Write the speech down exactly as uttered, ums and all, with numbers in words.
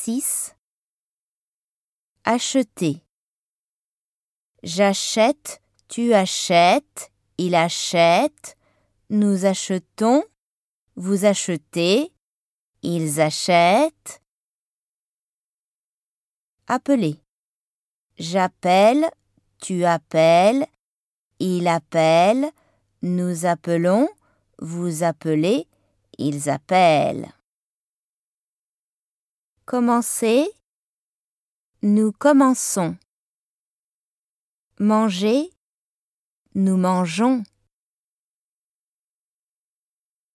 Exercice. Acheter. J'achète, tu achètes, il achète, nous achetons, vous achetez, ils achètent. Appeler. J'appelle, tu appelles, il appelle, nous appelons, vous appelez, ils appellent. Commencer. Nous commençons. Manger. Nous mangeons.